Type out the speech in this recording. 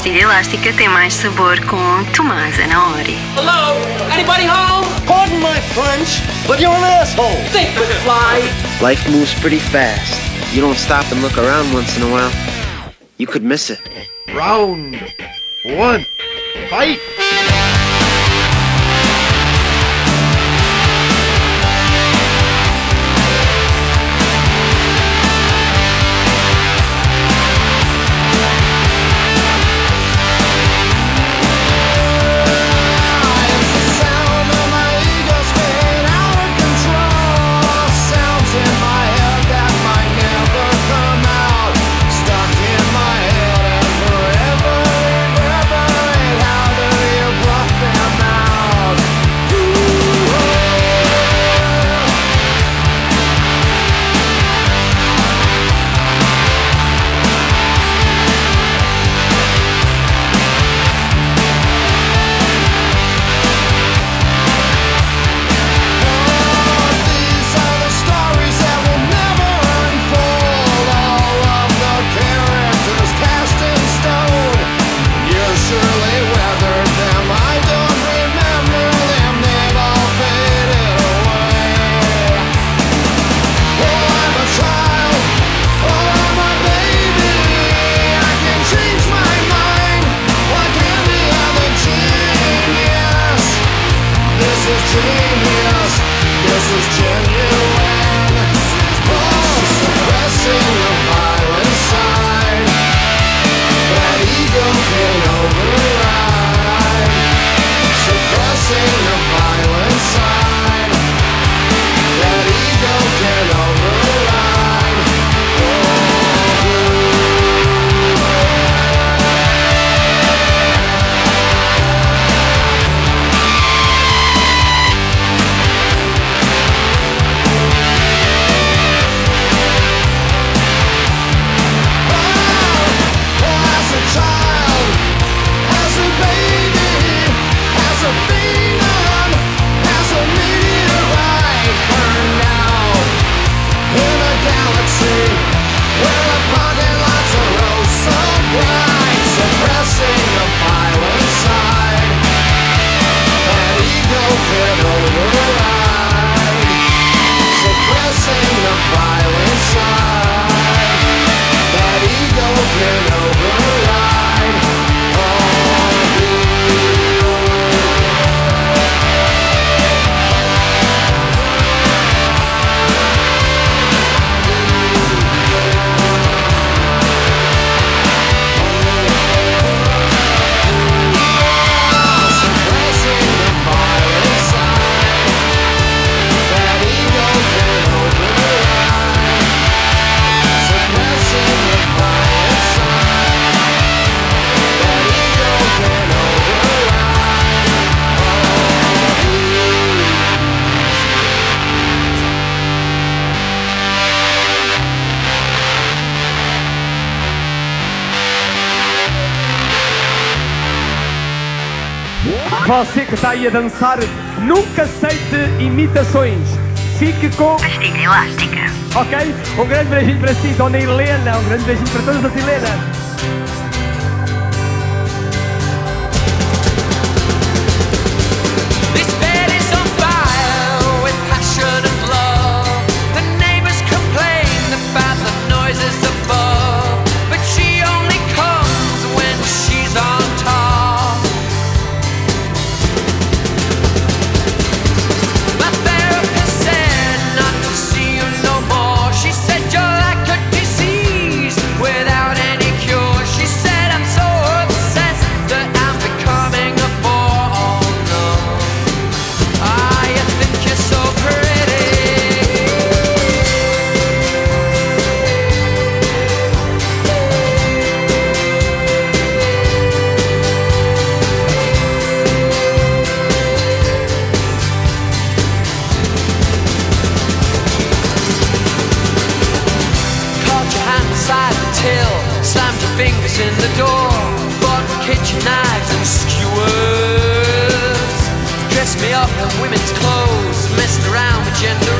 pastilha elástica tem mais sabor com Tomás Anaori. Hello? Anybody home? Pardon my French, but you're an asshole. Think with fly. Life moves pretty fast. You don't stop and look around once in a while, you could miss it. Round one, fight. Você que está aí a dançar, nunca aceite imitações. Fique com Pastilha elástica. Ok? Um grande beijinho para si, Dona Helena. Um grande beijinho para todas as Helenas. Without any cure, she said I'm so up in women's clothes, messing around with gender